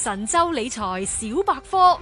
神州理財小百科。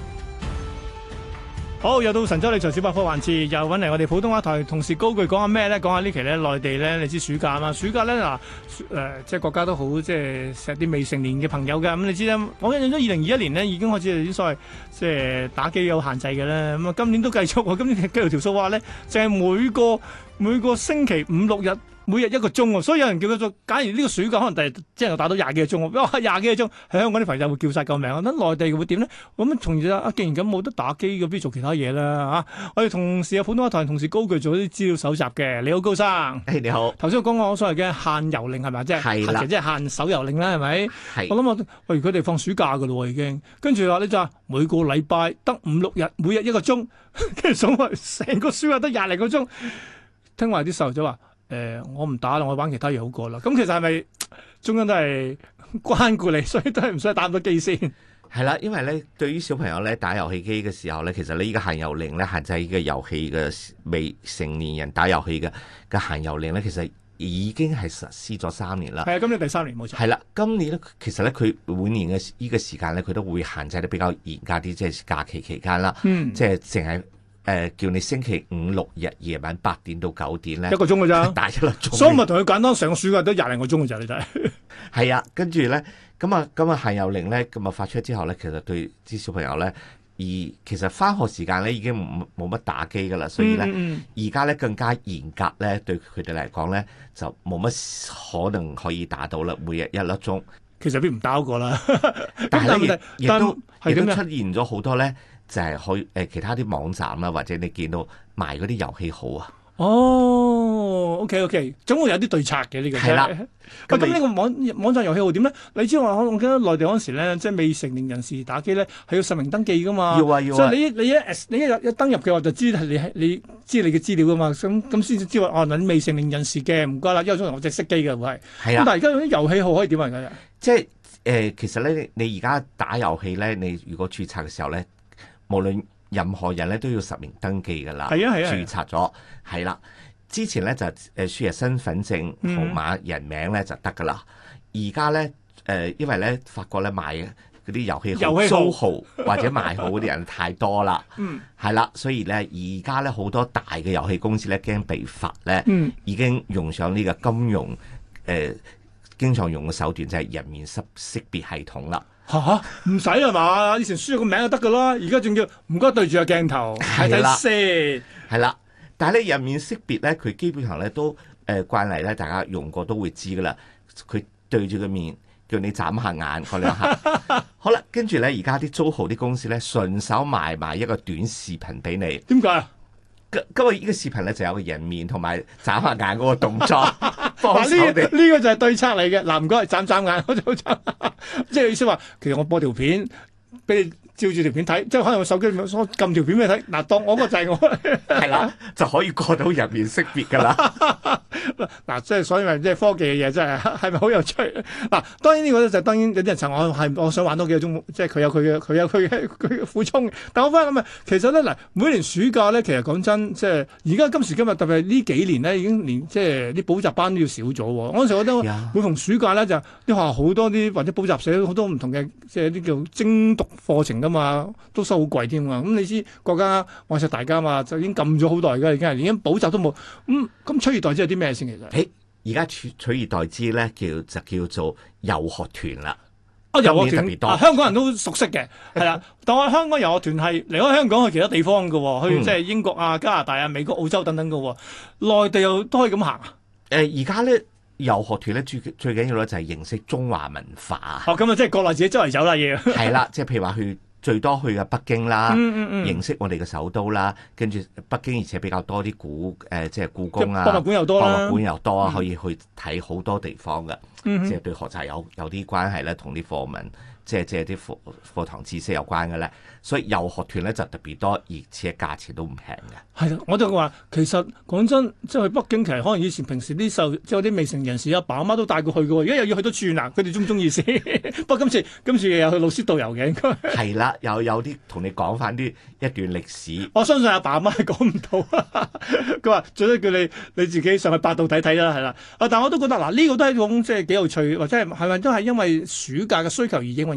好，又到神州理財小百科環節，又揾嚟我哋普通話台同事高炬講下咩咧？講下呢期咧內地咧，你知暑假嘛？暑假咧嗱，即係國家都好即係錫啲未成年嘅朋友嘅。咁你知啦，我印象中2021年咧已經開始有啲所謂即係打機有限制嘅啦。咁啊，今年都繼續喎。今年計條數話咧，就係每個星期5、6日。每日1個鐘喎，所以有人叫佢做，假如呢個暑假可能第日即係打到20幾個鐘喎，哇20幾個鐘，喺香港啲朋友會叫晒救命。我覺得內地會點咧？咁從而既然咁冇得打機，咁不如做其他嘢啦嚇。我哋同事有普通話台同事高炬做啲資料搜集嘅，你好高生。 你好。頭先我講過所謂嘅限遊令係咪？即係即係限手遊令啦，係咪？ 係。 我諗佢哋放暑假㗎咯喎已經，跟住話呢就話每個禮拜得5、6日，每日1個鐘，跟住數埋成個暑假得20零個鐘。聽話啲細路仔話。我唔打啦，我玩其他嘢好過啦。咁其實係咪中央都係關顧你，所以都係唔使打咁多機先？ 係啦，因為咧，對於小朋友咧打遊戲機嘅時候咧，其實呢依個限遊令咧限制呢個遊戲嘅未成年人打遊戲嘅限遊令咧，其實已經係實施咗3年啦。 係啊，今年第3年冇錯。 係啦，今年咧其實咧佢每年嘅呢個時間咧，佢都會限制得比較嚴格啲，即係假期期間啦。即係淨係。叫你星期5、6日夜晚8點到9點咧，1個鐘㗎咋，打1粒鐘。 所以咪同佢簡單成個暑假都20零個鐘㗎咋，你睇。 係啊，跟住咧，咁啊限遊令咧，咁啊發出之後咧，其實對啲小朋友咧，其實返學時間咧已經冇乜打機㗎啦，所以咧而家咧更加嚴格咧，對佢哋嚟講咧就冇乜可能可以打到啦，每日1粒鐘。 其實邊唔打過啦， 但係咧亦都出係點現咗好多咧。就係可其他啲網站啦，或者你見到賣嗰啲遊戲號啊。 哦，OK， 總會有啲對策嘅呢個。 係啦。 咁呢個網站遊戲號點咧？你知我記得內地嗰陣時咧，即係未成年人士打機咧，係要實名登記噶嘛。 要啊。 所以你一登入嘅話，就知你知你嘅資料噶嘛。咁先至知話你未成年人士嘅，唔該啦。因為我隻熄機嘅會係。係啊。咁但係而家啲遊戲號可以點啊？而家即係其實咧，你而家打遊戲咧，你如果註冊嘅時候咧。無論任何人咧都要實名登記㗎啦，註冊咗係啦。之前咧就輸入身份證號碼、人名咧就得㗎啦。而家咧因為咧發覺咧賣嗰啲遊戲號租號或者賣號嗰啲人太多啦，係啦，所以咧而家咧好多大嘅遊戲公司咧驚被罰咧，已經用上呢個金融經常用嘅手段就係人面識別系統啦。 唔使係嘛？以前輸咗個名就得噶啦，而家仲要唔該對住個鏡頭睇睇先。係啦，但係咧人面識別咧，佢基本上咧都慣例咧，大家用過都會知噶啦。佢對住個面，叫你眨下眼嗰兩下。好啦，跟住咧而家啲租號啲公司咧，順手賣埋一個短視頻俾你。 點解啊？ 今日呢個視頻咧就有個人面同埋眨下眼嗰個動作。 呢個就係對策嚟嘅。嗱，唔該，眨眼，我就眨。即係意思話，其實我播條片俾你照住條片睇，即係可能我手機撳條片俾你睇。嗱，當我個就係我係啦，就可以過到人面識別噶啦。 嗱，即係所以咪即係科技嘅嘢，真係咪好有趣？嗱，當然呢個咧就當然有啲人就我想玩多幾個鐘，即係佢有佢嘅苦衷。但我翻咁啊，其實咧嗱，每年暑假咧，其實講真，即係而家今時今日特別係呢幾年咧，已經連即係啲補習班都要少咗。嗰陣時我覺得每逢暑假咧，就啲學校好多啲或者補習社好多唔同嘅即係啲叫精讀課程噶嘛，都收好貴添啊。咁你知國家愛錫大家嘛，就已經禁咗好耐㗎，已經係連補習都冇。咁取而代之係啲咩先？其實而家取而代之咧，就叫做遊學團啦。 遊學團特別多，香港人都熟悉嘅，係啦。但係香港遊學團係離開香港去其他地方嘅，去即係英國啊、加拿大啊、美國、澳洲等等嘅。內地又都可以咁行啊？ 而家咧遊學團咧最緊要咧就係認識中華文化。 咁啊，即係國內自己周圍走啦要。係啦，即係譬如話最多去嘅北京啦，認識我哋嘅首都啦，跟住北京而且比較多啲即係故宮啊， 博物館又多啦， 博物館又多，可以去睇好多地方嘅，即係對學習有啲關係咧，同啲課文即係啲課堂知識有關嘅咧，所以遊學團咧就特別多，而且價錢都唔平嘅。 係啦，我就話其實講真，即係去北京，其實可能以前平時啲即係啲未成年人士阿爸阿媽都帶過去嘅喎，而家又要去到轉啦，佢哋中唔中意先？不過今次又去老師導遊嘅應該係啦，又有啲同你講翻一段歷史。 我相信阿爸阿媽係講唔到，佢話最多叫你自己上去百度睇睇啦，係啦。但我都覺得嗱，呢個都係一種即係幾有趣，或者係咪都係因為暑假嘅需求而應運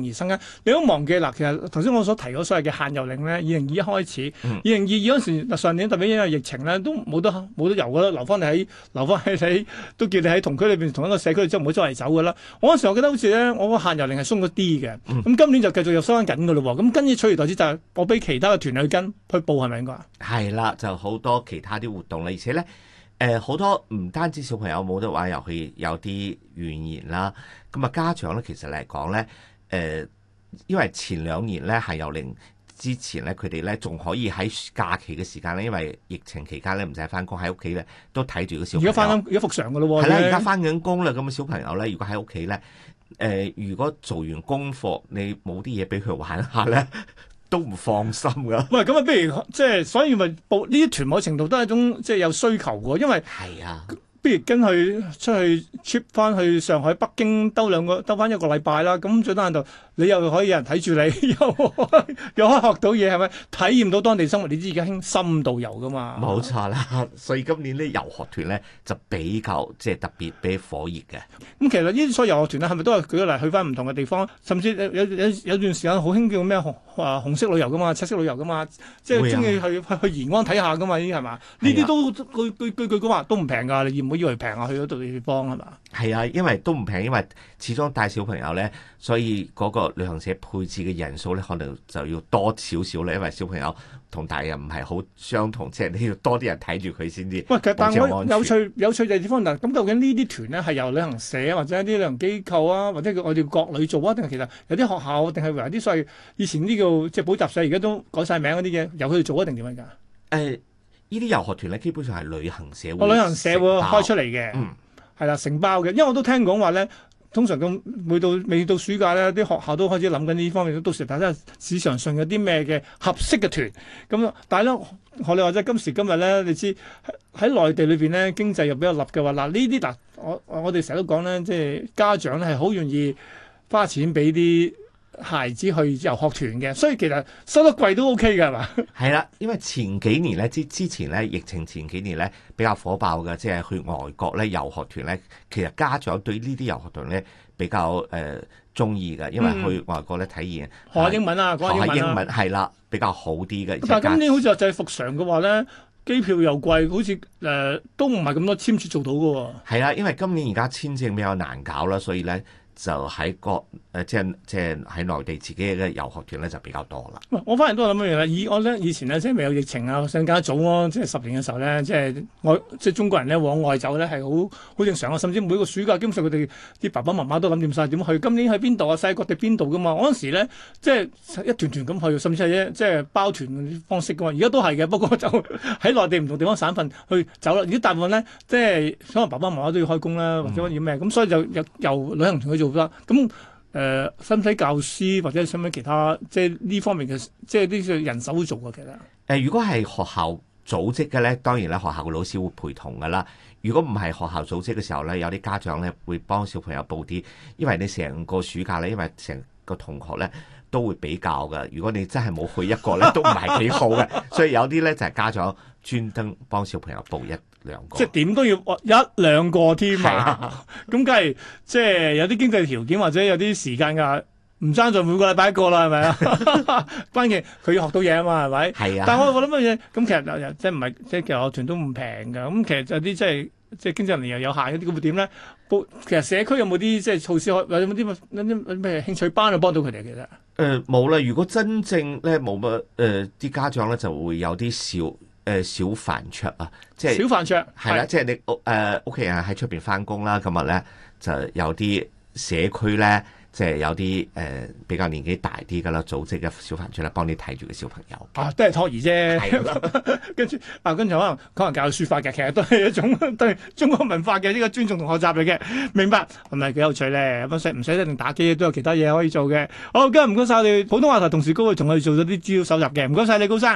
容易生根。你都忘記嗱，其實頭先我所提嗰所謂嘅限遊令咧，2021開始，2022嗰時上年特別因為疫情咧，都冇得遊噶啦，留翻你都叫你喺同區裏邊同一個社區，即係唔好周圍走噶啦。我嗰時我記得好似咧，我個限遊令係鬆咗啲嘅，咁今年就繼續又收翻緊噶咯喎。咁跟住取而代之就係我俾其他嘅團去報係咪應該？ 係啦，就好多其他啲活動啦，而且咧。好多唔單止小朋友冇得玩遊戲，有啲怨言啦。咁啊，家長咧其實嚟講咧，因為前2年咧限遊令之前咧，佢哋咧仲可以喺假期嘅時間咧，因為疫情期間咧唔使翻工，喺屋企咧都睇住個小朋友。而家復常噶咯喎。 係啦，而家翻緊工啦，咁小朋友咧，如果喺屋企咧，如果做完功課，你冇啲嘢俾佢玩下咧。都唔放心噶。喂， 咁啊，不如即係，所以咪報呢啲團某程度都係一種即係有需求嘅，因為係啊。 不如跟佢出去 trip 翻去上海、北京兜翻一個禮拜啦。咁最低限度你又可以有人睇住你，又可以學到嘢，係咪？體驗到當地生活，你知而家興深度遊噶嘛？ 冇錯啦。所以今年啲遊學團咧就比較即係特別比較火熱嘅。 咁其實呢啲所有遊學團咧，係咪都係舉個例去翻唔同嘅地方？甚至有段時間好興叫咩紅色旅遊噶嘛，赤色旅遊噶嘛，即係中意去延安睇下噶嘛？呢啲係嘛？呢啲都句講話都唔平㗎，你唔好以為平啊，去嗰度地方係嘛？ 係啊，因為都唔平，因為始終帶小朋友咧，所以嗰個旅行社配置嘅人數咧，可能就要多少少咧，因為小朋友同大人唔係好相同，即係你要多啲人睇住佢先至。喂， 但係我有趣嘅地方嗱，咁究竟呢啲團咧係由旅行社或者一啲旅行機構啊，或者我哋國旅做啊，定係其實有啲學校，定係為啲所謂以前呢個即係補習社，而家都改晒名嗰啲嘢，由佢哋做一定點樣㗎？ 呢啲遊學團咧，基本上係旅行社旅行社會開出嚟嘅，係啦，承包嘅。因為我都聽講話咧，通常咁未到暑假咧，啲學校都開始諗緊呢方面，到時睇下市場上有啲咩嘅合適嘅團。咁但係咧，學你話齋今時今日咧，你知喺內地裏邊咧，經濟又比較立嘅話，嗱呢啲嗱，我哋成日都講咧，即係家長咧係好願意花錢俾啲孩子去遊學團嘅，所以其實收得貴都 OK 嘅係嘛？ 係啦，因為前幾年咧之前咧疫情前幾年咧比較火爆嘅，即係去外國咧遊學團咧，其實家長對呢啲遊學團咧比較中意嘅，因為去外國咧體驗學英文啊，講下英文係啦，比較好啲嘅。 但係今年好似就係復常嘅話咧，機票又貴，好似都唔係咁多簽注做到嘅喎。 係啦，因為今年而家簽證比較難搞啦，所以咧。就喺即係喺內地自己嘅遊學團咧就比較多啦。 我反而都諗一樣啦。我咧以前咧即係未有疫情啊，更加早咯，即係10年嘅時候咧，即係中國人咧往外走咧係好正常啊。甚至每個暑假基本上佢哋啲爸爸媽媽都諗掂晒點去。今年去邊度啊？世界各地邊度噶嘛？嗰陣時咧即係一團團咁去，甚至係即係包團方式噶嘛。而家都係嘅，不過就喺內地唔同地方省份去走啦。而家大部分咧即係可能爸爸媽媽都要開工啦，或者要咩咁，所以就由旅行團去做啦。咁使唔使教師或者使唔使其他即係呢方面嘅即係啲人手會做嘅其實？ 如果係學校組織嘅咧，當然咧學校嘅老師會陪同噶啦。如果唔係學校組織嘅時候咧，有啲家長咧會幫小朋友報啲，因為你成個暑假咧，因為成個同學咧都會比較嘅。如果你真係冇去一個咧，都唔係幾好嘅。所以有啲咧就係家長專登幫小朋友報1-2個， 即係點都要1-2個添啊！咁梗係即係有啲經濟條件或者有啲時間㗎，唔爭在每個禮拜一個啦，係咪啊？關鍵佢要學到嘢啊嘛，係咪？係啊。但係我諗乜嘢？咁其實即係唔係即係其實學團都唔平㗎。咁其實有啲即係經濟能力又有限嗰啲，咁會點咧？其實社區有冇啲即係措施，或者有冇啲咩興趣班去幫到佢哋？其實冇啦。如果真正咧冇乜啲家長咧就會有啲小飯桌啊，即係小飯桌係啦，即係你屋企人喺出邊翻工啦，今日咧就有啲社區咧，即係有啲比較年紀大啲噶啦，組織嘅小飯桌咧，幫你睇住個小朋友。 都係托兒啫。跟住可能教書法嘅，其實都係一種對中國文化嘅呢個尊重同學習嚟嘅。明白係咪幾有趣咧？唔使一定打機，都有其他嘢可以做嘅。好，今日唔該晒我哋普通話台同事高炬同我哋做咗啲資料搜集嘅，唔該晒你高生。